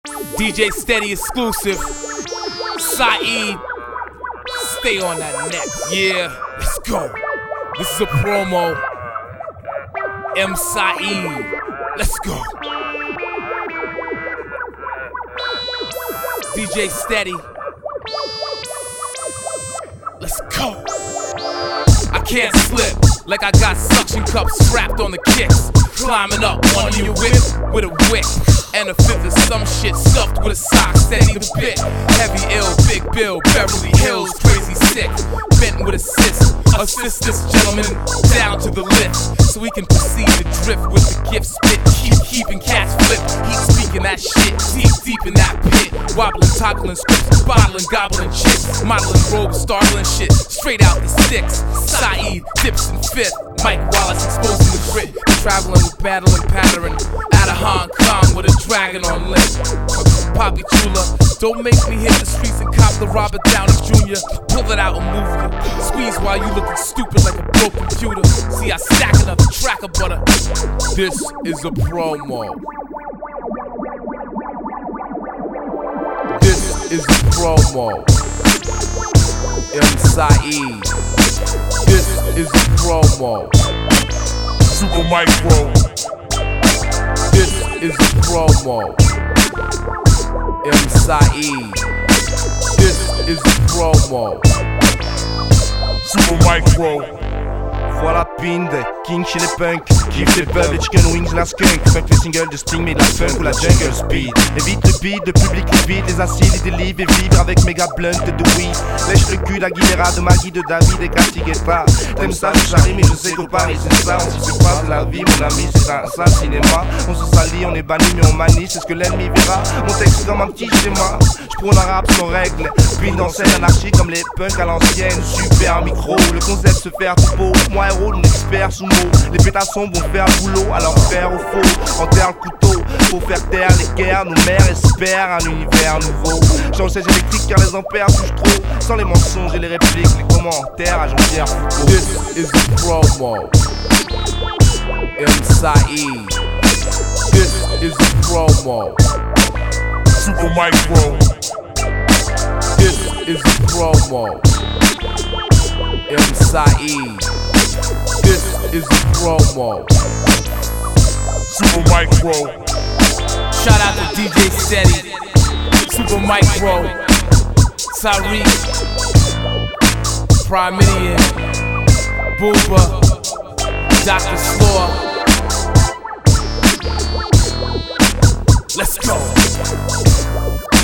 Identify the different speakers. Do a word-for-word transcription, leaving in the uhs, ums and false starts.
Speaker 1: D J Steady exclusive. Saeed, stay on that neck. Yeah, let's go. This is a promo. M. Saeed, let's go. D J Steady, let's go. I can't slip like I got suction cups strapped on the kicks. Climbing up on your whip with a wick and a fifth of some shit stuffed with a sock, steady the bit. Heavy ill, big bill, Beverly Hills, crazy sick. Bent with assist, assist this gentleman down to the lift, so we can proceed to drift with the gift spit. Keep keeping cats flip, keep speaking that shit deep, deep in that pit. Wobbling, toggling scripts, bottling, gobbling chicks, modeling robes, startling shit, straight out the sticks. Saeed dips in fifth, Mike Wallace exposing the grit, traveling with battling pattern out of Hong Kong with a dragon on lip. Poppy Chula, don't make me hit the streets and cop the Robert Downey Junior Pull it out and move you. Squeeze while you looking stupid like a broke computer. See, I stack another track of butter. This is a promo. This is a promo. M. Saeed. This is a promo.
Speaker 2: Super Micro.
Speaker 1: This is a promo. M. Saeed. This is a promo.
Speaker 2: Super Micro.
Speaker 3: Voilà Pind, King chez les punks, kiff les pubs, les chicken wings, la skunk. Funk les singles de Sting, mais de la funk ou la jungle speed. Évite le beat, le public le beat, les acides, les délivres et vibre avec méga blunt de weed. Lèche le cul d'Aguilera, de Maggie, de David et Catigueta. T'aimes ça, je charrie, mais je sais que Paris c'est ça. On s'y fait pas de la vie, mon ami, c'est un sale cinéma. On se salit, on est banni, mais on manie, c'est ce que l'ennemi verra. Mon texte est comme un petit schéma, j'prône un rap sans règles. Puis dans scène anarchie comme les punks à l'ancienne. Super micro, le concept se faire tout beau. Moi héros, mon expert sous mots. Les pétassons vont faire le boulot, alors faire au faux. Enterre le couteau, faut faire taire les guerres. Nos mères espèrent un univers nouveau. Change siège électrique car les ampères touchent trop. Sans les mensonges et les répliques, les commentaires à Jean-Pierre Foucault.
Speaker 1: This is a promo. M. Saeed. This is a promo.
Speaker 2: Super Micro.
Speaker 1: This is a promo. M. Saeed. This is a promo.
Speaker 2: Super Micro.
Speaker 1: Shout out to D J Steady, Super Micro, Tariq, Prime Midian, Booba, Doctor Slore. Let's go.